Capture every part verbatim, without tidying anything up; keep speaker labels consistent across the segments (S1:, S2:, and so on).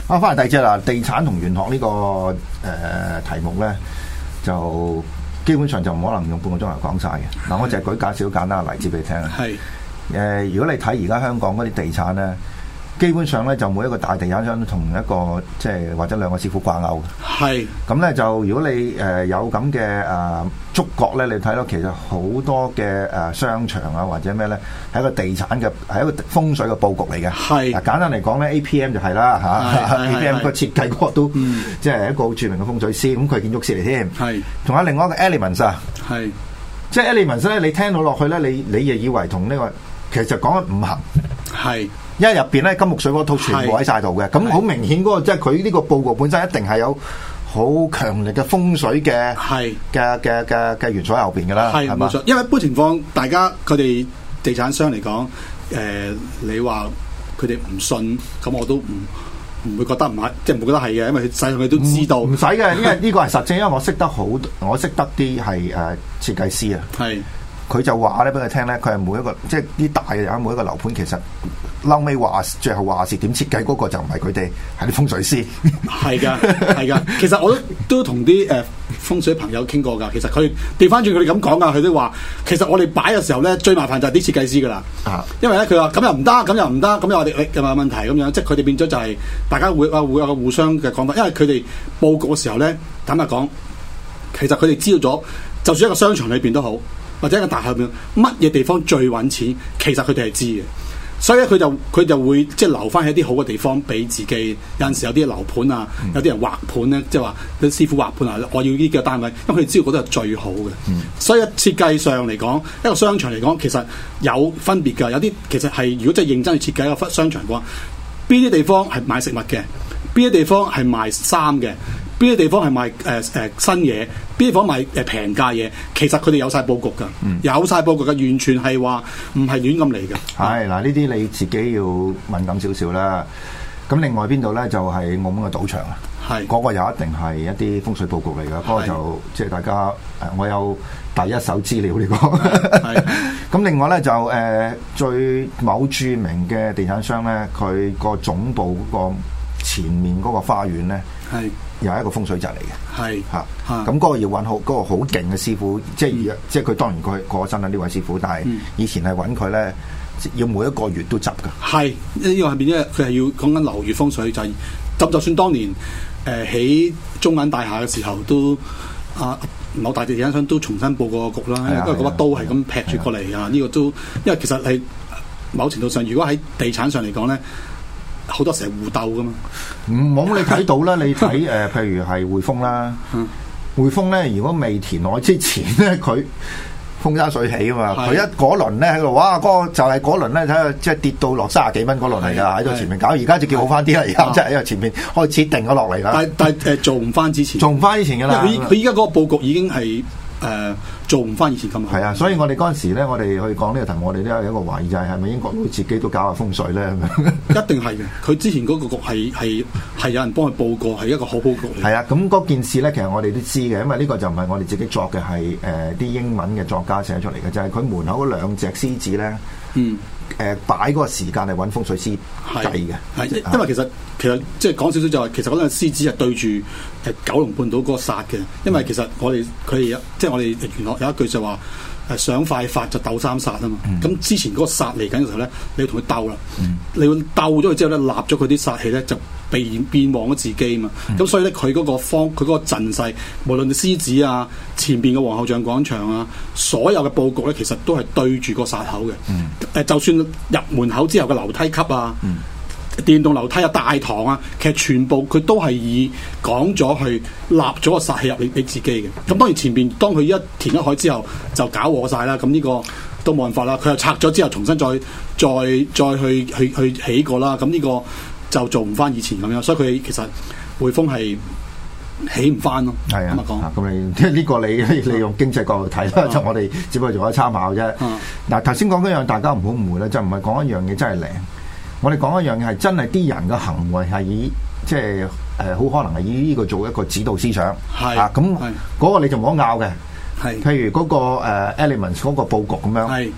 S1: 啊，翻嚟第二節啦，地產同玄學呢、這個誒、呃、題目咧，就基本上就唔可能用半個鐘頭講晒嘅。嗱，我就係舉介紹好簡單嘅例子俾你聽啊。係誒、呃，如果你睇而家香港嗰啲地產咧，基本上咧就每一個大地產商都同一個即係或者兩個師傅掛鈎嘅。係咁咧，就如果你誒、呃、有咁嘅誒觸覺咧，你睇到其實好多嘅誒、呃、商場啊或者咩咧，係一個地產嘅係一個風水嘅佈局嚟嘅。係嗱，簡單嚟講咧 ，A P M 就係啦嚇 ，A P M 個設計嗰個都即係一個好著名嘅風水師，咁佢係建築師嚟添。係，仲有另外一個 Elements 啊，係即係 Elements 咧，你聽到落去咧，你你亦以為同呢、這個其實就講緊五行係。因為入邊咧金木水火土全部喺晒度嘅，咁好明顯嗰個即係佢呢個佈局本身一定係有好強力嘅風水嘅嘅嘅嘅嘅元素喺後邊㗎啦，係冇錯。因為一般情況，大家佢哋地產商嚟講，誒、呃、你話佢哋唔信，咁我都唔唔會覺得唔係，即係唔會覺得係嘅，因為實際上佢都知道。唔使嘅，因為呢個係實證，因為我識得好，我識得啲係誒設計師啊。係。佢就話咧俾佢聽咧，佢係每一個即係啲大嘅人，每一個樓盤其實嬲尾話最後話事點設計嗰個就唔係佢哋，係啲風水師。係㗎，係㗎。其實我都都同啲誒風水朋友傾過㗎。其實佢調翻轉佢哋咁講㗎，佢都話其實我哋擺嘅時候咧，最麻煩就係啲設計師㗎啦。啊，因為咧佢話咁又唔得，咁又唔得，咁又我哋又有問題咁樣，即係佢哋變咗就係大家會啊會有個互相嘅講法。因為佢哋佈局嘅時候咧，坦白講，其實佢哋知道咗，就算一個商場裏邊都好。或者一個大廈入邊，乜嘢地方最揾錢？其實佢哋係知嘅，所以咧佢就佢就會即係留翻喺啲好嘅地方俾自己。有陣時有啲樓盤啊，嗯、有啲人畫盤咧，即係話啲師傅畫盤啊，我要呢個單位，因為佢哋知道嗰度係最好嘅。嗯、所以設計上嚟講，一個商場嚟講，其實有分別㗎。有啲其實係如果真係認真去設計一個商場嘅話，邊啲地方係賣食物嘅，邊啲地方係賣衫嘅。邊啲地方係賣誒誒新嘢，邊啲地方賣誒平價嘢，其實佢哋有晒佈局㗎，嗯、有晒佈局㗎，完全係話唔係亂咁嚟嘅。係嗱，呢啲你自己要敏感少少啦。咁另外邊度咧就係、是、澳門嘅賭場啊，係嗰個又一定係一啲風水佈局嚟㗎。嗰個就即係大家誒，我有第一手資料呢、這個。係咁，另外咧就誒、呃、最某著名嘅地產商咧，佢個總部嗰個前面嗰個花園咧，係。又係一個風水陣嚟嘅，係嚇，咁嗰個要揾好嗰個好勁嘅師傅，即係、嗯、即係佢當然佢過咗身啦呢位師傅，但係以前係揾佢咧，要每一個月都執㗎。係呢個係邊咧？佢係要講緊流月風水就係、是，就就算當年誒起、呃、中銀大廈嘅時候都啊某大地產商都重新佈過局啦，因為嗰把刀係咁劈住過嚟啊！呢個都因為其實係某程度上，如果喺地產上嚟講咧。好多時係互鬥噶嘛，唔冇你睇到啦，你睇誒、呃，譬如係匯豐啦，嗯、匯豐咧，如果未填海之前咧，佢風生水起啊嘛，佢的一嗰輪咧喺度，哇，嗰、那個就係嗰輪咧睇下，即係跌到落三十幾蚊嗰輪嚟噶，喺度前面搞，而家就叫好翻啲啦，而家即係因為前面開始定咗落嚟啦。但但誒、呃、做唔翻之前，做唔翻以前噶啦，佢佢依家嗰個佈局已經係。誒、呃、做唔翻以前咁好。係啊，所以我哋嗰陣時咧，我哋去講呢個題目，我哋都有一個懷疑，就係係咪英國佬自己都搞下風水咧？一定係嘅。佢之前嗰個局係係係有人幫佢報過，係一個好佈局嚟。係啊，咁嗰件事咧，其實我哋都知嘅，因為呢個就唔係我哋自己作嘅，係誒啲英文嘅作家寫出嚟嘅，就係、是、佢門口嗰兩隻獅子咧。嗯。誒擺嗰個時間嚟揾風水師計嘅，係因為其實其實即係講少少就係其實嗰兩隻獅子係對住誒九龍半島嗰個煞嘅，因為其實我哋佢哋即係我哋原來有一句就話誒想快發就鬥三煞啊嘛，咁、嗯、之前嗰個煞嚟緊嘅時候咧，你要同佢鬥啦，嗯、你要鬥咗佢之後咧，立咗佢啲煞氣咧就變變旺咗自己啊嘛，咁、嗯、所以咧佢嗰個方佢嗰個陣勢，無論獅子啊前邊嘅皇后像廣場啊，所有嘅佈局咧，其實都係對住個煞口嘅。誒、嗯，就算入門口之後嘅樓梯級啊、嗯、電動樓梯啊、大堂啊，其實全部佢都係以講咗去立咗個煞氣入你你自己嘅。咁、嗯、當然前邊當佢一填一海之後就搞禍晒啦，咁呢個都冇辦法啦。佢又拆咗之後重新再再再去去去起過啦，咁呢個就做唔翻以前咁樣，所以佢其實匯豐係起唔翻咯。係啊，咁你即係呢個你你用經濟角度睇啦，就我哋只不過做一參考啫。嗱，頭先講嗰樣大家唔好誤會啦，就唔係講一樣嘢真係靈。我哋講一樣嘢係真係啲人嘅行為係以即係誒好可能係以呢個做一個指導思想。係啊，咁嗰個你就唔好拗嘅。係，譬如嗰個誒 Elements 嗰個佈局咁樣。係。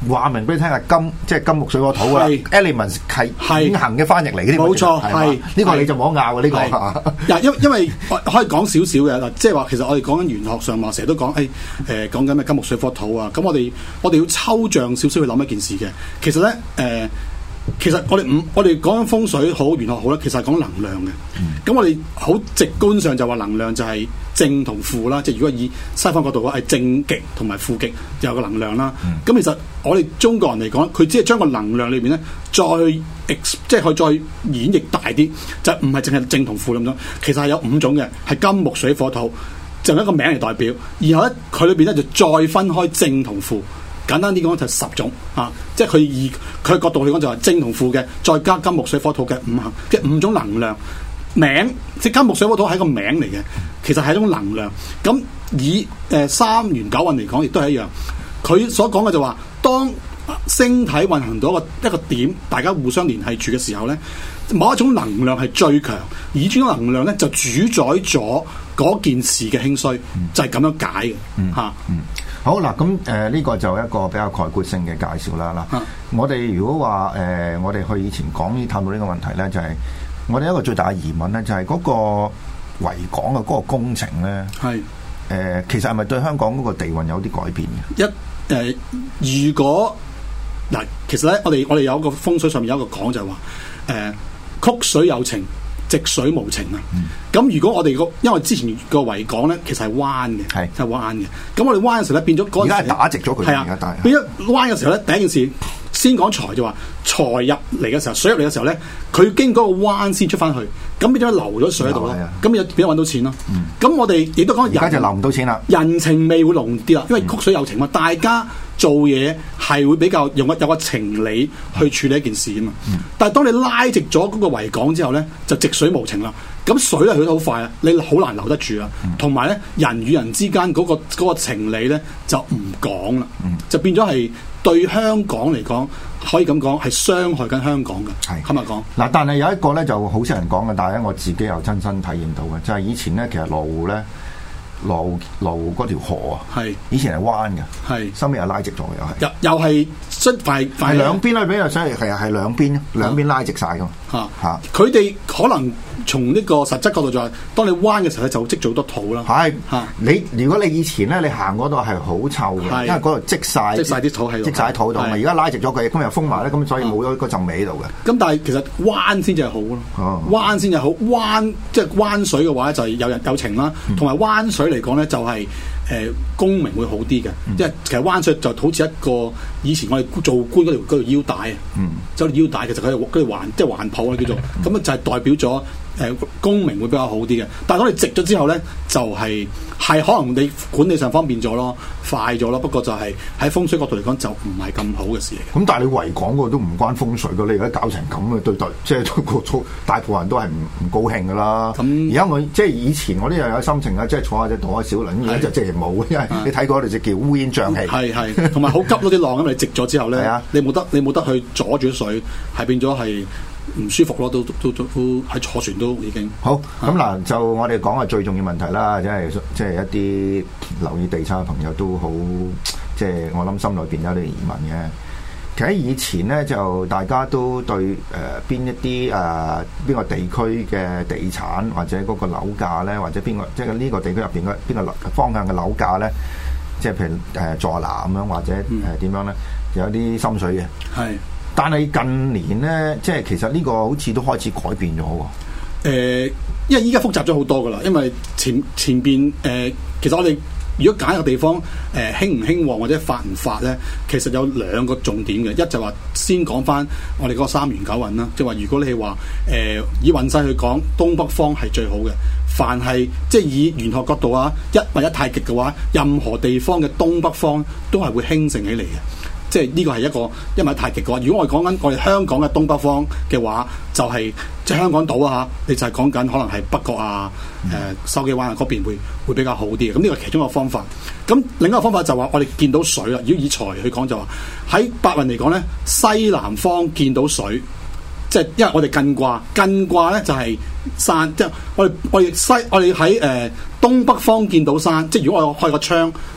S1: 話明俾你聽係金，即係金木水火土啊 ，elements 係永恆嘅翻譯嚟嘅，
S2: 冇錯，係
S1: 呢個你就冇得拗嘅呢個。
S2: 嗱，因因為可以講少少嘅嗱，即係話其實我哋講緊玄學上話，成日都講誒誒講緊咩金木水火土啊，咁我哋我哋要抽象少少去諗一件事嘅，其實咧誒。呃其實我哋唔，我哋講緊風水好，玄學好咧，其實係講能量嘅。咁、嗯、我哋好直觀上就話能量就係正同負啦，即係如果以西方角度講係正極同埋負極就有個能量啦。咁、嗯、其實我哋中國人嚟講，佢只係將個能量裏邊咧再 ex， 即係可以再演繹大啲，就唔係淨係正同負咁樣。其實係有五種嘅，係金木水火土，就用一個名嚟代表。然後咧佢裏邊咧就再分開正同負。簡單啲講就係十種啊，即係佢以佢角度嚟講就係正同負嘅，再加金木水火土嘅五行嘅五種能量名，即係金木水火土係一個名嚟嘅，其實係一種能量。咁以誒、呃、三元九運嚟講，亦都係一樣。佢所講嘅就話，當星體運行到一個一個點，大家互相聯繫住嘅時候咧，某一種能量係最強，而呢種能量咧就主宰咗嗰件事嘅興衰，嗯、就係咁樣解嘅嚇。嗯嗯嗯
S1: 好嗱，咁誒呢個就一個比較概括性嘅介紹啦。嗱、啊，我哋如果話誒、呃，我哋去以前講呢探討呢個問題咧，就係、是、我哋一個最大嘅疑問咧，就係、是、嗰個維港嘅嗰個工程咧，係誒是、呃，其實係咪對香港嗰個地運有啲改變嘅？一誒、
S2: 呃，如果嗱、呃，其實咧，我哋我哋有一個風水上面有一個講就係話，誒、呃，曲水有情，直水無情啊！咁、嗯、如果我哋個，因為之前個維港咧，其實係彎嘅，係係彎嘅。咁我哋彎嘅時候咧，變咗嗰陣時，而家係打直咗佢。係啊，變咗彎嘅時候咧，第一件事先講財就話財入嚟嘅時候，水入嚟嘅時候咧，佢經過個彎先出翻去，咁變咗流咗水喺度咯。咁變咗變咗揾到錢咯。咁、嗯、我哋亦都講，而家
S1: 就流唔到錢啦。
S2: 人情味會濃啲啦，因為曲水有情嘛，大家做嘢係會比較用個有個情理去處理一件事啊嘛。嗯、但係當你拉直咗嗰個維港之後咧，就直水無情啦。咁水咧去得好快啊，你好難留得住啊。同埋咧，人與人之間嗰、嗰個嗰個情理咧就唔講啦，嗯、就變咗係對香港嚟講，可以咁講係傷害緊香港嘅。係，今日講
S1: 嗱，但係有一個咧就好少人講嘅，但係咧我自己又親身體驗到嘅，就係、係、以前咧其實羅湖咧。羅湖羅湖嗰條河啊，係是以前係彎嘅，係收尾又拉直咗，又係又又係出快快兩邊咧，比較犀利係啊，係兩邊兩邊拉直晒噶嘛嚇嚇，佢哋、啊啊、可能從呢個實質角度就係、是，當你彎嘅時候咧，就積咗好多土啦。係嚇、啊、你如果你以前咧，你行嗰度係好臭嘅，是因為嗰度積晒積晒啲土喺度，積晒土度嘛。而家拉直咗佢，今日封埋咧，咁所以冇咗嗰陣味喺度嘅。咁、啊、但係其實彎先至係好咯，啊、彎先至好彎，即係彎水嘅話就係有人有情啦，同埋彎水嚟講咧就係、是。誒功名會好啲嘅，因為其實灣水就好似一個以前我哋做官嗰條嗰條腰帶啊，即係腰帶其實佢係嗰條環即係環抱啊叫做，咁啊就係代表咗誒功名會比較好啲嘅。但係當你直咗之後咧，就係係可能你管理上方便咗咯，快咗咯。不過就係喺風水角度嚟講，就唔係咁好嘅事嚟嘅。咁但係你維港嗰個都唔關風水㗎，你而家搞成咁嘅對對，即係個大部分人都係唔唔高興㗎啦。咁而家我即係以前我都又有心情啊，即係坐下隻坐下小輪，而家就即係冇，因為你睇過嗰條就叫烏煙瘴氣。係係，同埋好急咯啲浪，咁你直咗之後咧，啊、你冇得你冇得去阻住水，係變咗係唔舒服咯，都都都喺坐船都已經好。咁嗱、啊，就我哋講下最重要問題啦，即係即係一啲留意地產嘅朋友都好，即係我諗心裏邊有啲疑問嘅。其實以前咧，就大家都對誒邊、呃、一啲誒邊個地區嘅地產或者嗰個樓價咧，或者邊個即係呢個地區入邊嘅邊個方向嘅樓價咧，即係譬如誒座南咁樣或者誒點、呃、樣咧，有啲心水嘅。係、嗯，但係近年咧，即係其實呢個好似都開始改變咗喎。誒、呃，因為依家複雜咗好多噶啦，因為前前邊誒、呃，其實我哋。如果揀一個地方，誒、呃、興唔興旺或者發唔發咧，其實有兩個重點嘅。一就話先講翻我哋嗰個三元九運啦，即係話如果你係話誒以運勢去講，東北方係最好嘅。凡係即係以玄學角度啊，一或一太極嘅話，任何地方嘅東北方都係會興盛起嚟嘅。即係呢個係一個一物太極嘅話，如果我哋講緊我哋香港嘅東北方嘅話，就係、是、即係香港島啊嚇，你就係講緊可能係北角啊、誒筲箕灣啊嗰邊會會比較好啲嘅。咁呢個係其中一個方法。咁另一個方法就話我哋見到水啦。如果以財去講就話喺八運嚟講咧，西南方見到水，即係因為我哋艮卦，艮卦咧就係山，即係我哋我哋西我哋喺誒東北方見到山。即係如果我開個窗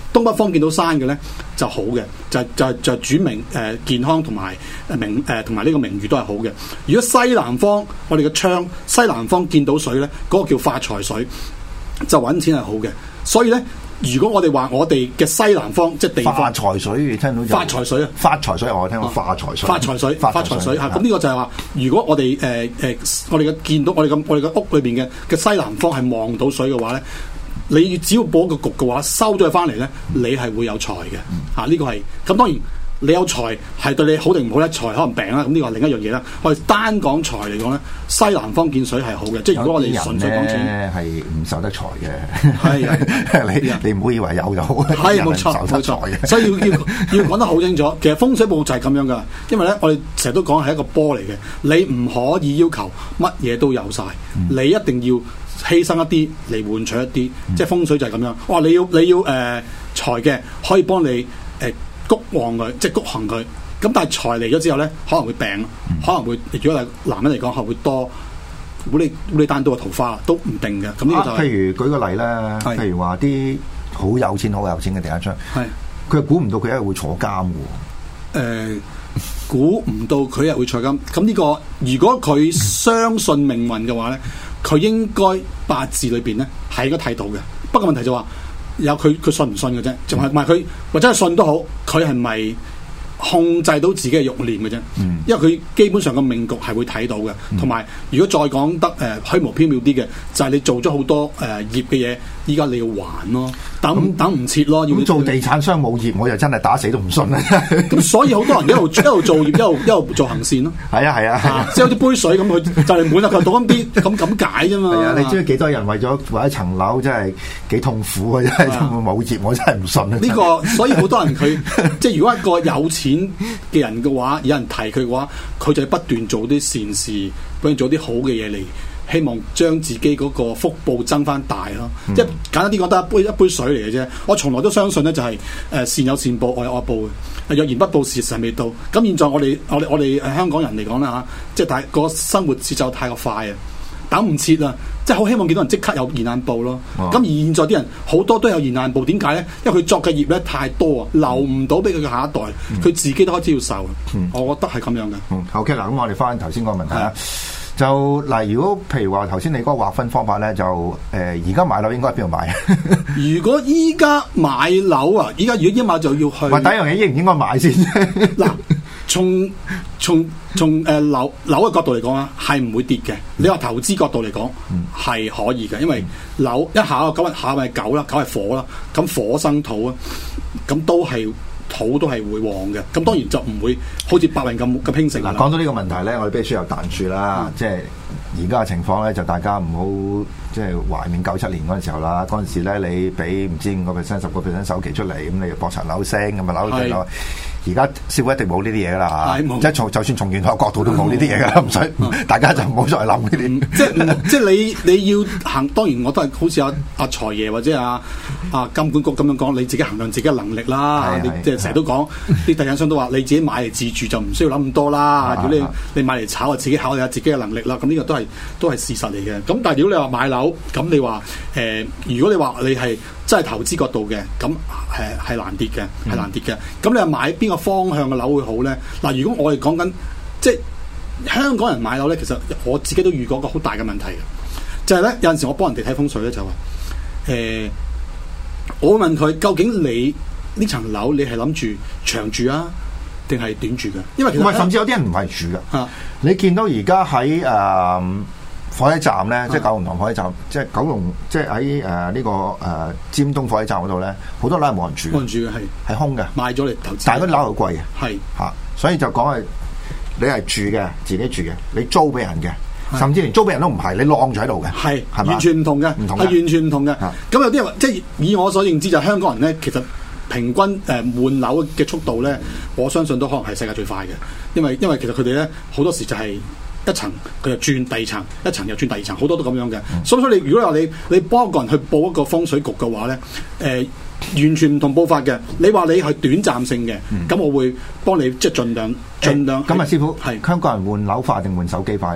S2: 東北方見到山嘅咧就好嘅，就就就主名誒、呃、健康同埋名誒同埋呢個名譽都係好嘅。如果西南方我哋嘅窗西南方見到水咧，嗰、那個叫發財水，就揾錢係好嘅。所以咧。如果我哋話我哋嘅西南方即係地方
S1: 發財水，聽到
S2: 發財水啊！
S1: 發財水我聽過發財水，
S2: 發財水，發財水嚇。咁呢個就係話，如果我哋誒誒，我哋嘅見到我哋嘅我哋嘅屋裏邊嘅嘅西南方係望到水嘅話咧，你只要佈一個局嘅話，收咗佢翻嚟咧，你係會有財嘅嚇。呢個係咁當然。你有財係對你好定唔好咧？財可能病啦，咁呢個係另一樣嘢啦。我哋單講財嚟講咧，西南方見水係好嘅，即係如果我哋純粹講錢，
S1: 係唔受得財嘅。
S2: 係
S1: 你你唔好以為有就好，
S2: 係冇錯冇錯。所以要要要講得好清楚。其實風水佈就係咁樣噶，因為咧我哋成日都講係一個波嚟嘅，你唔可以要求乜嘢都有晒，嗯、你一定要犧牲一啲嚟換取一啲，嗯、即係風水就係咁樣。哇！你要你要誒、呃、財嘅可以幫你誒。呃谷旺佢，即係谷行佢。咁但係財嚟咗之後咧，可能會病，嗯、可能會如果係男人嚟講，可能會多烏哩烏哩單刀嘅桃花都唔定嘅。咁呢個就係、
S1: 啊、譬如舉個例啦，
S2: 是
S1: 譬如話啲好有錢、好有錢嘅地產商，係佢估唔到佢一日會坐監嘅。誒、
S2: 呃，估唔到佢一日會坐監。咁呢、這個如果佢相信命運嘅話咧，佢應該八字裏邊咧係應該睇到嘅。不過問題就話、是。有佢佢信唔信嘅啫，仲係唔係佢或者係信都好，佢係咪控制到自己嘅慾念嘅啫？嗯、因為佢基本上個命局係會睇到嘅，同埋、嗯、如果再講得誒、呃、虛無縹緲啲嘅，就係、是、你做咗好多誒、呃、業嘅嘢，依家你要還咯，等、嗯、等唔切咯。
S1: 咁做地產商冇業，我就真係打死都唔信啦。
S2: 咁所以好多人一路一路做業，一路一路做行善咯。
S1: 係啊係啊，
S2: 即係好似杯水咁，佢就嚟滿啦，佢倒咁啲咁咁解啫嘛。
S1: 係啊，你知幾多人為咗為一層樓，真係幾痛苦啊！真係冇業，我真係唔信啊。呢
S2: 個所以好多人佢即係如果一個有錢嘅人嘅話，有人提佢嘅話，佢就不斷做啲善事，不斷做啲好嘅嘢嚟，希望將自己嗰個福報增翻大咯。嗯、即係簡單啲講，得一杯一杯水嚟嘅啫。我從來都相信咧、就是，就係誒善有善報，惡有惡報嘅。若然不報，時辰未到。咁現在我哋我哋我哋誒香港人嚟講啦嚇，即係大個生活節奏太過快啊，等唔切啊！即係好希望見到人即刻有現眼報咯。咁、哦、而現在啲人好多都有現眼報，點解咧？因為佢作嘅業咧太多啊，留唔到俾佢嘅下一代，佢、嗯、自己都開始要受。嗯、我覺得係咁樣嘅。
S1: 嗯，OK 嗱，咁我哋翻頭先個問題啦。就嗱，如果譬如話頭先你嗰個劃分方法咧，就誒而家買樓應該喺邊度買？
S2: 如果依家買樓啊，依家如果依買就要去。
S1: 喂，第一樣嘢應唔應該買先？
S2: 嗱，從從從誒樓樓嘅角度嚟講啊，係唔會跌嘅。你話投資角度嚟講，係、嗯、可以嘅，因為樓一下咁下咪九啦，九係火啦，咁火生土啊，咁都係。土都係會旺嘅，咁當然就唔會好似白雲咁咁興盛。嗱，
S1: 講到呢個問題咧，我哋必須有彈住啦，嗯、即係而家嘅情況咧，就大家唔好即係懷念九七年嗰陣時候啦。嗰陣時咧，你俾唔知五個 percent、十個 percent 首期出嚟，咁你博層樓升，咁啊樓跌落。而家社會一定冇呢啲嘢噶啦嚇，即係從就算從玄學角度都冇呢啲嘢噶啦，唔使、嗯、大家就唔好再諗呢啲。
S2: 即係即係你你要行，當然我都係好似阿阿財爺或者阿阿金管局咁樣講，你自己衡量自己嘅能力啦。你即係成日都講啲地產商都話，你自己買嚟自住就唔需要諗咁多啦。如果你你買嚟炒啊，自己考慮下自己嘅能力啦。咁呢個都係都係事實嚟嘅。咁但係如果你話買樓，咁你話誒、呃，如果你話你係真係投資角度嘅，咁誒係難跌嘅，係難跌嘅。咁、嗯、你話買邊個方向嘅樓會好咧？嗱，如果我哋講緊即係香港人買樓咧，其實我自己都遇過一個好大嘅問題嘅，就係、是、咧有陣時我幫人哋睇風水咧，就話誒、呃，我會問佢究竟你呢層樓你係諗住長住啊，定係短住嘅？因為其實
S1: 甚至有啲人唔係住嘅。啊，你見到而家喺誒火車站咧，即係九龍塘火車站，即係九龍，即係喺誒呢個誒、呃、尖東火車站嗰度咧，好多樓係冇人住，
S2: 冇人住嘅係係
S1: 空嘅，
S2: 賣咗嚟投資，
S1: 但係嗰啲樓好貴嘅，係嚇
S2: 是，
S1: 所以就講係你係住嘅，自己住嘅，你租俾人嘅，是甚至連租俾人都唔係，你晾住喺度嘅，係係
S2: 完全唔同嘅，唔同係完全唔同嘅。咁有啲人話，即係以我所認知，就香港人咧，其實平均誒換樓嘅速度咧，我相信都可能係世界最快嘅，因為因為其實佢哋咧好多時就係、是。一層佢就轉第二層，一層又轉第二層，好多都咁樣嘅。嗯、所以所以你如果話你你幫一個人去報一個風水局嘅話咧，誒、呃、完全唔同報法嘅。你話你係短暫性嘅，咁、嗯、我會幫你即係盡量盡量。咁啊，
S1: 師傅係香港人換樓快定換手機快咧？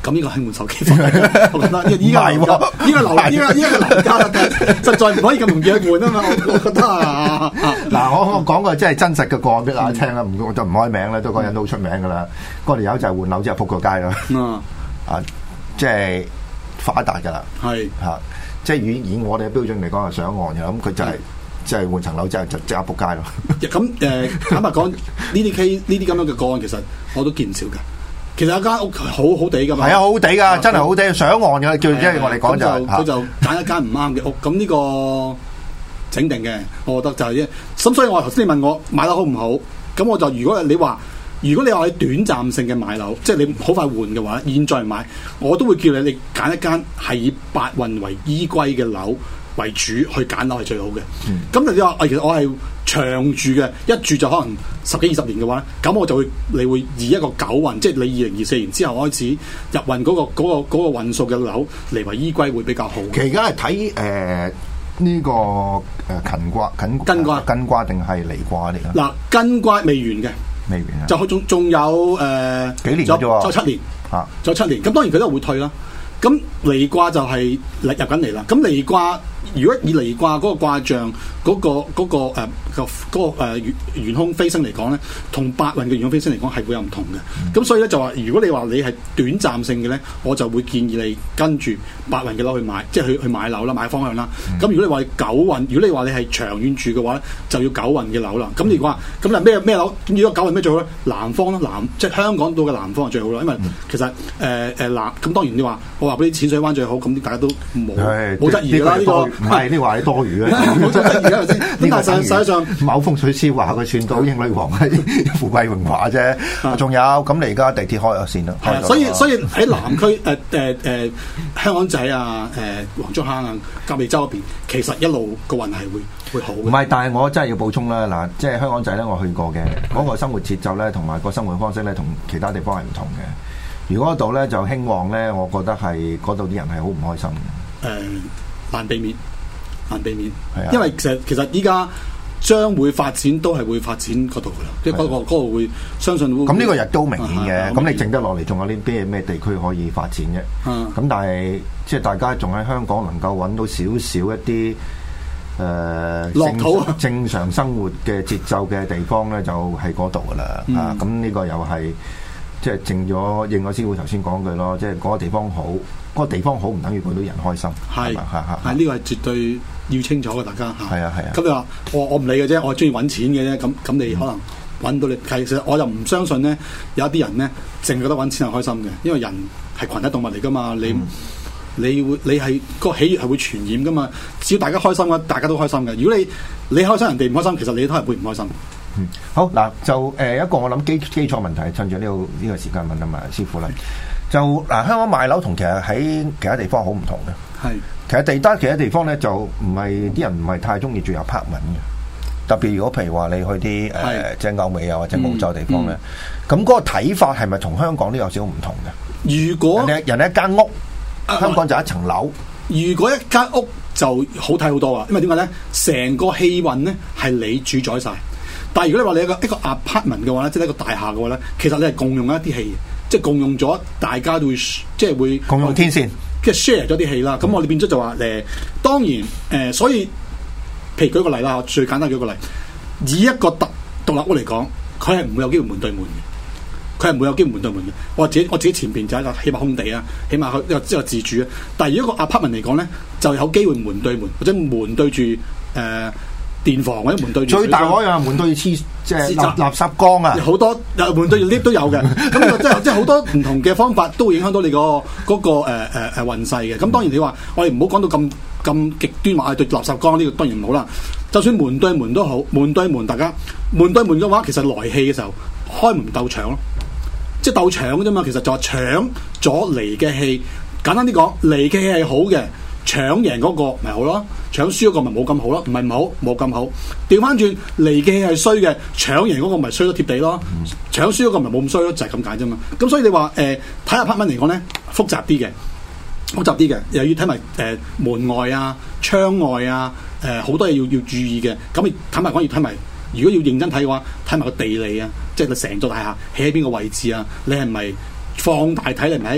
S2: 咁呢個係換手機貨嚟，我覺得依家依家依家樓依家依家嘅樓價實在唔可以咁容易去換啊嘛，我我覺得啊，
S1: 嗱我我講個即係真實嘅個案俾大家聽啦，唔我就唔開名啦，都講人都好出名噶啦，嗰條友就係換樓之後撲個街啦，啊即係發達噶啦，係嚇，即係以以我哋嘅標準嚟講係上岸嘅，咁佢就係即係換層樓之後就即刻撲街咯。
S2: 咁誒坦白講，呢啲 case 呢啲咁樣嘅個案其實我都見唔少㗎。其實有間屋好好地噶嘛，
S1: 係啊，好地噶，真係好地，上岸嘅，叫即係我哋講就
S2: 佢就揀一間唔啱嘅屋，咁呢個整定嘅，我覺得就係啫。咁所以我頭先你問我買樓好唔好，咁我就如果你話，如果你話你短暫性嘅買樓，即係你好快換嘅話，現在買，我都會叫你你揀一間係以八運為依歸嘅樓為主去揀樓係最好嘅。咁、嗯、你話其實我係長住嘅，一住就可能十幾二十年嘅話，咁我就會你會以一個九運，即係你二零二四年之後開始入運嗰、嗰個嗰、嗰個嗰、嗰個運數嘅樓嚟為依歸會比較好。
S1: 其實而家係睇誒呢個誒艮卦、艮艮卦、艮卦定係離卦嚟㗎？
S2: 嗱，艮卦未完嘅，
S1: 未完啊，
S2: 就仲仲有誒、呃、幾年啫喎，仲有七年嚇，仲有七年。咁、啊、當然佢都會退啦。咁離卦就係入緊嚟啦。咁離卦如果以離卦嗰個卦象嗰、嗰個嗰、嗰個誒、呃嗰個嗰個誒玄玄空飛星嚟講咧，同八運嘅玄空飛星嚟講係會有唔同嘅。咁、嗯、所以咧就話，如果你話你係短暫性嘅咧，我就會建議你跟住八運嘅樓去買，即係去去買樓啦，買方向啦。咁、嗯、如果你話九運，如果你話你係長遠住嘅話咧，就要九運嘅樓啦。咁你話咁嗱咩咩樓？咁如果九運咩最好咧？南方啦，南即係香港島嘅南方係最好啦。因為其實誒誒、呃、南咁當然你話我話俾啲淺水灣最好，咁大家都冇冇質疑啦。呢、這個
S1: 唔係呢話係多餘嘅，
S2: 冇質疑啦先。咁但係實際上
S1: 某風水師話佢算到英女王係富貴榮華啫。仲有咁你而家地鐵開咗線啦。
S2: 係啊，所以所以喺南區誒誒誒香港仔啊、誒、呃、黃竹坑啊、甲尾洲嗰邊，其實一路個運係會會好嘅。唔係，
S1: 但係我真係要補充啦。嗱，即係香港仔咧，我去過嘅嗰、那個生活節奏咧，同埋個生活方式咧，同其他地方係唔同嘅。如果嗰度咧就興旺咧，我覺得係嗰度啲人係好唔開心嘅。誒、
S2: 呃，難避免，難避免。係啊，因為其實其實依家將會發展都係會發展嗰度噶啦，即係嗰個嗰度會相信會。
S1: 咁呢個亦都明顯嘅。咁、啊、你剩得落嚟，仲有啲咩咩地區可以發展嘅？咁、啊、但係即係大家仲喺香港能夠揾到少少一啲誒
S2: 樂土啊，
S1: 正常生活嘅節奏嘅地方咧，就喺嗰度噶啦。嗯、啊，咁呢個又係。即係正咗應我師傅頭先講句咯，即係嗰個地方好，嗰、嗰個地方好唔等於嗰啲人開心，係嘛？係係，
S2: 呢個係絕對要清楚嘅，大家嚇。係啊係啊。咁你話我我唔理嘅啫，我中意揾錢嘅啫。咁咁你可能揾到你，其實我又唔相信咧，有一啲人咧淨係覺得揾錢係開心嘅，因為人係群體動物嚟噶嘛。你、嗯、你會你係、嗰個喜悅係會傳染噶嘛。只要大家開心嘅，大家都開心嘅。如果你你開心，人哋唔開心，其實你都係會唔開心。
S1: 嗯，好嗱，就誒、呃、一個我諗基基礎問題，趁住呢個呢個時間問啊嘛，師傅啦。就嗱、呃，香港買樓同其實喺其他地方好唔同嘅。係，其實地單其他地方咧就唔係啲人唔係太中意住 apartment 嘅。特別如果譬如話你去啲誒、呃、即係歐美啊或者澳洲地方咧，咁嗰、嗯嗯、個睇法係咪同香港都有少少唔同嘅？如果人哋人哋一間屋，啊、香港就一層樓。
S2: 如果一間屋就好睇好多啊，因為點解咧？成個氣運咧係你主宰晒。但係如果你話你一個一個 apartment 嘅話咧，即係一個大廈嘅話咧，其實你係共用一啲氣，即係共用咗，大家都會即係會
S1: 共用天線，
S2: 即係 share 咗啲氣啦。咁、嗯、我哋變咗就話誒，當然誒、呃，所以譬如舉個例啦，最簡單舉個例，以一個獨獨立屋嚟講，佢係唔會有機會門對門嘅，佢係唔會有機會門對門嘅。我自己我自己前邊就係一個起碼空地啊，起碼一個一個自主啊。但係如果個 apartment 嚟講咧，就有機會門對門或者門對住誒。呃電房或者門對住，
S1: 最大可能門對住黐即係垃垃圾缸啊！
S2: 好多門對住 lift 都有嘅，咁即係即係好多唔同嘅方法都會影響到你、嗰個嗰、嗰個誒誒誒運勢嘅。咁當然你話我哋唔好講到咁咁極端話對垃圾缸呢、呢個當然唔好啦。就算門對門都好，門對門大家門對門嘅話，其實來氣嘅時候開門鬥搶咯，即係鬥搶嘅啫嘛。其實就係搶咗嚟嘅氣，簡單啲講，嚟嘅氣係好嘅。搶贏嗰個咪好咯，搶輸嗰個咪冇咁好咯，唔係唔好冇咁好。調翻轉嚟嘅氣係衰嘅，搶贏嗰個咪衰咗貼地咯，搶輸嗰個咪冇咁衰咯，就係咁解啫嘛。咁所以你話誒睇下 apartment 嚟講咧，複雜啲嘅，複雜啲嘅，又要睇埋誒門外啊、窗外啊，誒、呃、好多嘢要要注意嘅。咁你坦白講要睇埋，如果要認真睇嘅話，睇埋個地理啊，即係你成座大廈起喺邊個位置啊，你係咪放大睇，你唔係喺一個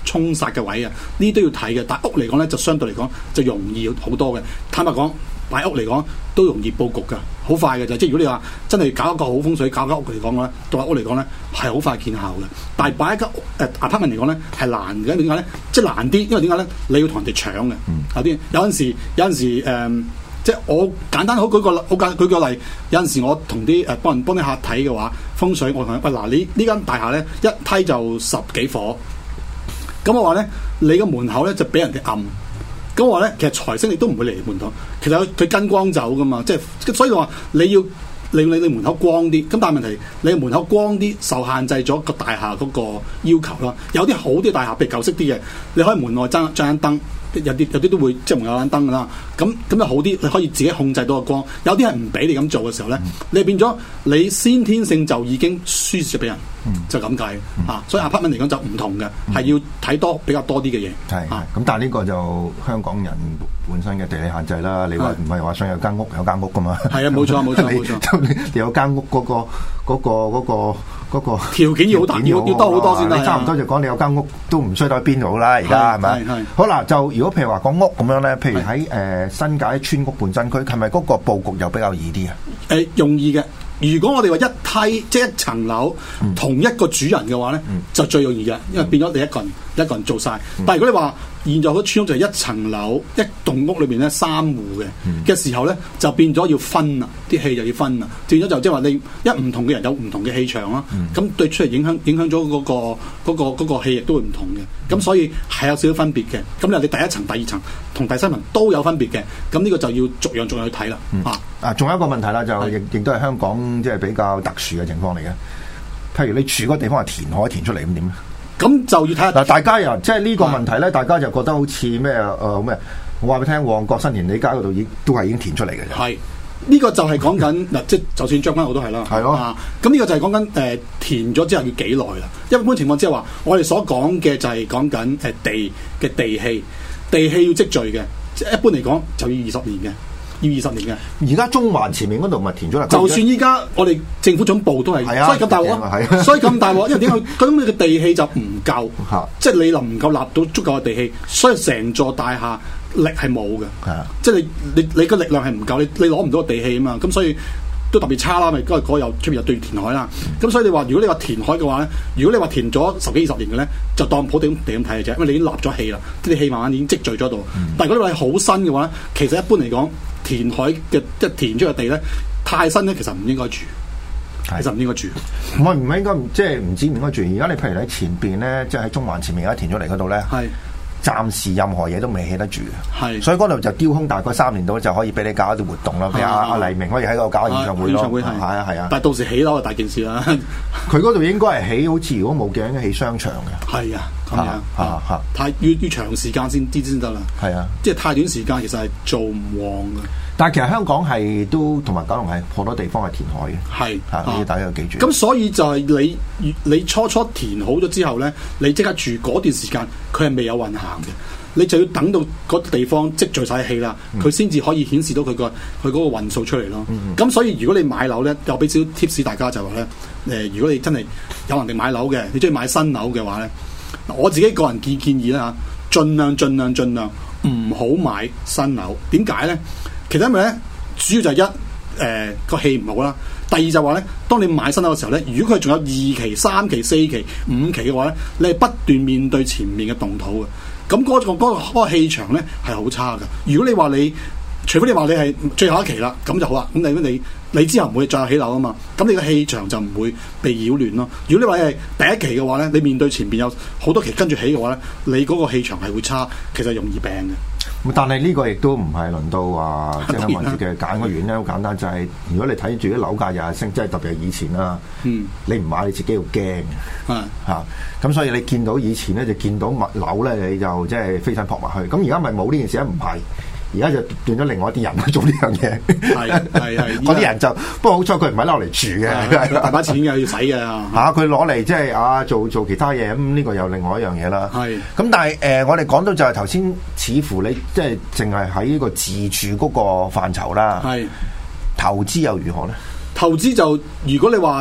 S2: 沖煞嘅位啊，呢啲都要睇嘅。但屋嚟講咧，就相對嚟講就容易好多嘅。坦白講，擺屋嚟講都容易佈局㗎，好快嘅就。即係如果你話真係搞一個好風水，搞間屋嚟講咧，獨立屋嚟講咧係好快見效嘅。但係擺一間誒 apartment 嚟講咧係難嘅，點解咧？即係難啲，因為點解咧？你要同人哋搶嘅，有啲有陣時有陣時誒。呃即係我簡單好舉個好簡舉個例，有陣時我同啲誒幫人幫啲客睇嘅話，風水我同佢喂嗱，你呢間大廈咧一梯就十幾伙，咁我話咧你個門口咧就俾人哋暗，咁我話咧其實財星你都唔會嚟門口，其實佢跟光走噶嘛，即係所以話你要令你你門口光啲，咁但係問題你門口光啲受限制咗個大廈嗰個要求啦，有啲好啲大廈譬如舊式啲嘅，你可以門外裝裝盞燈。有啲有啲都會即係門有盞燈㗎啦，咁咁就好啲，你可以自己控制到個光。有啲係唔俾你咁做嘅時候咧，嗯、你變咗你先天性就已經輸蝕咗俾人，嗯、就咁計嚇。所以 apartment 嚟講就唔同嘅，係、嗯、要睇多比較多啲嘅嘢。係
S1: 咁、啊，但係呢個就香港人本身嘅地理限制啦。你話唔係話想有間屋有間屋㗎嘛？係啊，冇錯冇錯冇錯。你你有間屋嗰、嗰個嗰、嗰個嗰、嗰個嗰、嗰個條
S2: 件要好大，要要多好多先得。
S1: 你差唔多就講你有間屋都唔衰到邊度啦，而家係咪？好啦，就如果譬如話講屋咁樣咧，譬如喺誒、呃、新界村屋半新區，係咪嗰個佈局又比較易啲啊？誒、
S2: 呃，容易嘅。如果我哋話一梯即係一層樓、嗯、同一個主人嘅話咧，嗯、就最容易嘅，因為變咗你一個人、嗯、一個人做晒。嗯、但係如果你話現在嗰村屋就係一層樓一棟屋裏邊咧三戶嘅嘅、嗯、時候咧，就變咗要分啦，啲氣就要分啦，變咗就即係話你一唔同嘅人有唔同嘅氣場啦，咁、嗯、對出嚟影響影響咗嗰個嗰、嗰個嗰、嗰個氣亦都會唔同嘅，咁、嗯、所以係有少少分別嘅。咁你第一層、第二層同第三層都有分別嘅，咁呢個就要逐樣逐樣去睇啦。嗯、啊
S1: 啊，仲有一個問題啦，就亦亦都係香港即係比較特殊嘅情況嚟嘅。譬如你住嗰個地方係填海填出嚟咁點咧？
S2: 咁就要睇下
S1: 嗱，大家又即係呢個問題咧，大家就覺得好似咩誒咩？我話俾你聽，旺角新填地街嗰度已都係已經填出嚟嘅。
S2: 係呢、呢個就係講緊嗱，即係就算將軍澳都係啦。係咯的。咁呢、啊、個就係講緊誒填咗之後要幾耐啦？一般情況之下話，我哋所講嘅就係講緊誒地嘅地氣，地氣要積聚嘅，即係一般嚟講就要二十年嘅。要二十年嘅，
S1: 而家中環前面嗰度咪填咗啦。
S2: 就算依家我哋政府總部都係，所以咁大鑊，所以咁大鑊，因為點解？咁你嘅地氣就唔夠，即係你能唔夠立到足夠嘅地氣，所以成座大廈力係冇嘅，即係你你你個力量係唔夠，你你攞唔到個地氣啊嘛，咁所以都特別差啦。咪嗰個有出邊有對填海啦，咁所以你話如果你話填海嘅話咧，如果你話填咗十幾二十年嘅咧，就當普地地咁睇嘅啫，因為你已經立咗氣啦，啲氣慢慢已經積聚咗度。但係如果你話好新嘅話咧，其實一般嚟講，填海嘅即係填出嘅地咧，太新咧，其實唔應該住，的其實唔應該住。
S1: 唔係唔係應該，即係唔知唔應該住。而家你譬如喺前邊咧，即係喺中環前面而家填出嚟嗰度咧，係暫時任何嘢都未起得住嘅。係的，所以嗰度就丟空大概三年到就可以俾你搞一啲活動啦。譬如阿阿黎明可以喺嗰度搞演唱會咯。係啊係啊。但係到時起樓就大件事啦。佢嗰度應該係起，好似如果冇嘅，應該起商場嘅。係啊。咁樣嚇嚇，太要要長時間先知先得啦。係啊，即係太短時間其實係做唔旺嘅。但係其實香港係都同埋九龍係好多地方係填海嘅。係嚇，呢啲大家要記住。咁所以就係你你初初填好咗之後咧，你即刻住嗰段時間，佢係未有運行嘅。你就要等到嗰地方積聚晒氣啦，佢先至可以顯示到佢個佢嗰個運數出嚟咯。咁、嗯、所以如果你買樓咧，又俾少 tips 大家就話咧，誒、呃，如果你真係有能力買樓嘅，你中意買新樓嘅話咧。我自己個人建建議啦嚇，盡量盡量盡量唔好買新樓。點解咧？其實因為咧，主要就係一誒個氣唔好啦。第二就話咧，當你買新樓嘅時候咧，如果佢仲有二期、三期、四期、五期嘅話咧，你係不斷面對前面嘅動土嘅。咁嗰、嗰個嗰、嗰個氣場咧係好差嘅。如果你話你，除非你話你係最後一期啦，咁就好啦。咁你你你之後唔會再有起樓啊嘛，咁你個氣場就唔會被擾亂咯。如果你話係第一期嘅話咧，你面對前邊有好多期跟住起嘅話咧，你嗰個氣場係會差，其實容易病嘅。但係呢個亦都唔係輪到話即係香港人嘅揀個原因，好簡單，就係、是、如果你睇住啲樓價日日升，即係特別係以前啦，嗯、你唔買你自己要驚嘅，嚇咁、嗯啊、所以你見到以前咧就見到物樓咧，你就即係飛身撲埋去。咁而家咪冇呢件事咧，唔係。而家就斷咗另外一啲人去做呢樣嘢，係係係，嗰啲人就不過好彩佢唔係攞嚟住嘅，大把錢嘅要使嘅嚇，佢攞嚟即係啊做做其他嘢，咁呢個又另外一樣嘢啦。係咁是，但係誒、呃，我哋講到就係頭先，似乎你即係淨係喺呢個自住嗰個範疇啦。係是投資又如何咧？投資就如果你話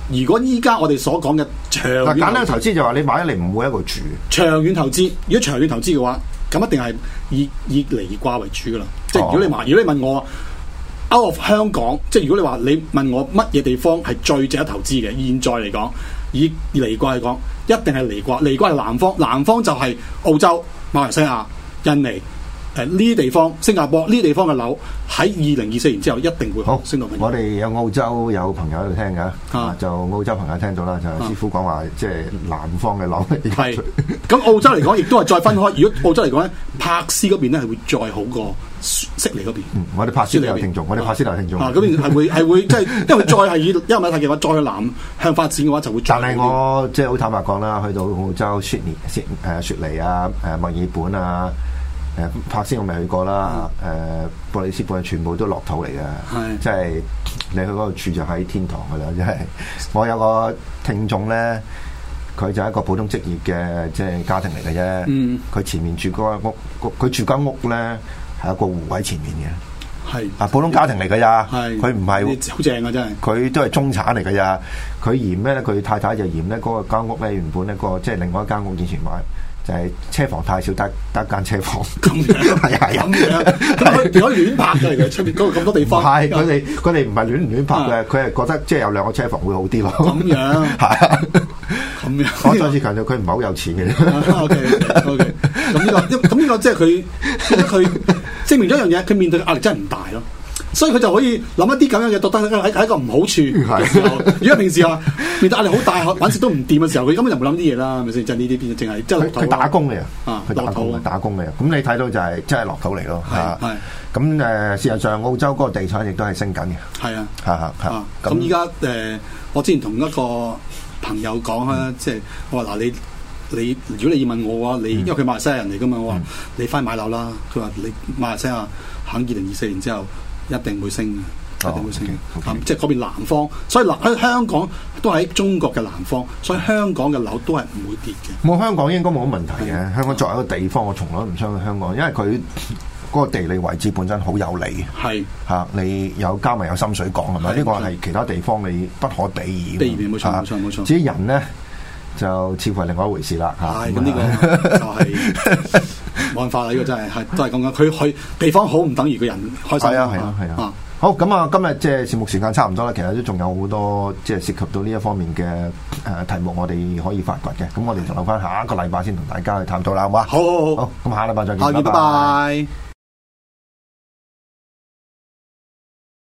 S2: 如果依家我哋所講嘅長遠
S1: 嗱，簡單嘅投資就話你買咗你唔會喺度住。
S2: 長遠投資，如果長遠投資嘅話，咁一定係以以離掛為主噶啦。即係如果你話，如果你問我 out of 香港，即係如果你話你問我乜嘢地方係最值得投資嘅，現在嚟講，以離掛嚟講，一定係離掛。離掛係南方，南方就係澳洲、馬來西亞、印尼。誒呢啲地方，新加坡呢啲地方嘅樓喺二零二四年之後一定會好升到。
S1: 我哋有澳洲有朋友喺度聽㗎，啊、就澳洲朋友聽到啦，就師傅講話，即係南方嘅樓
S2: 係。咁澳洲嚟講，亦都係再分開。如果澳洲嚟講咧，柏斯嗰邊咧係會再好過悉尼嗰邊。嗯，
S1: 我哋柏斯都有聽眾，我哋柏斯都有聽眾。
S2: 啊，嗰邊係會係會即係，因為再係以因為睇嘅話，再去南向發展嘅話，就會。
S1: 但係我即係好坦白講啦，去到澳洲悉尼、悉誒雪梨啊、誒墨爾本啊。誒柏斯我未去過啦，誒、呃、布里斯本全部都落土嚟嘅，即係你去嗰度住就喺天堂㗎啦，即係我有個聽眾咧，佢就係一個普通職業嘅即係家庭嚟嘅啫，佢、嗯、前面住嗰間屋，佢住間屋咧係一個湖喺前面嘅，係啊普通家庭嚟㗎咋，佢唔係
S2: 好正啊真係，
S1: 佢都係中產嚟㗎咋，佢嫌咩咧？佢太太就嫌咧嗰個間屋咧原本咧、嗰個即係另外一間屋以前買。就係車房太少，得得間車房
S2: 咁樣，係係咁樣，佢可以亂拍嘅，出邊嗰度咁多地方。
S1: 係佢哋佢哋唔係亂唔亂拍嘅，佢係覺得即係有兩個車房會好啲咯。
S2: 咁樣係咁樣。
S1: 我再次強調，佢唔係好有錢嘅。
S2: O K O K，咁呢個咁呢個即係佢佢證明咗一樣嘢，佢面對嘅壓力真係唔大咯。所以佢就可以諗一啲咁樣嘅，覺得喺喺一個唔好處嘅時候。如果平時話面對壓力好大，揾食都唔掂嘅時候，佢根本就冇諗啲嘢啦，係咪先？即係呢啲變咗淨係即係
S1: 佢打工嘅，
S2: 啊，
S1: 佢打工打工嘅。咁你睇到就係真係落土嚟咯。
S2: 係係。
S1: 咁誒，事實上澳洲嗰個地產亦都係升緊嘅。係啊，係係。
S2: 咁依家誒，我之前同一個朋友講啦，即係我話嗱，你你如果你要問我嘅話，你因為佢馬來西亞人嚟㗎嘛，我話你翻去買樓啦。佢話你馬來西亞喺二零二四年之後。一定會升嘅，一定會升嘅。
S1: Oh, okay, okay.
S2: 即係嗰邊南方，所以南喺香港都係喺中國嘅南方，所以香港嘅樓都係唔會跌嘅。
S1: 冇香港應該冇乜問題嘅。的香港作為一個地方，我從來都唔相信香港，因為佢嗰個地理位置本身好有利。係嚇的、啊，你有加埋有深水港係咪？呢個係其他地方你不可比擬。比擬冇錯冇錯冇錯。至於人咧，就似乎係另外一回事啦嚇。
S2: 係咁呢個就係。冇辦法啦！呢、這個真係係都係咁樣，佢去地方好唔等於個人開心。係啊係啊係啊！啊
S1: 好咁啊，今日即係節目時間差唔多啦。其實都仲有好多即係涉及到呢一方面嘅誒、呃、題目，我哋可以發掘嘅。咁我哋就留翻下一個禮拜先同大家去探討啦，好嘛？好好好，好咁下禮拜再見，拜拜。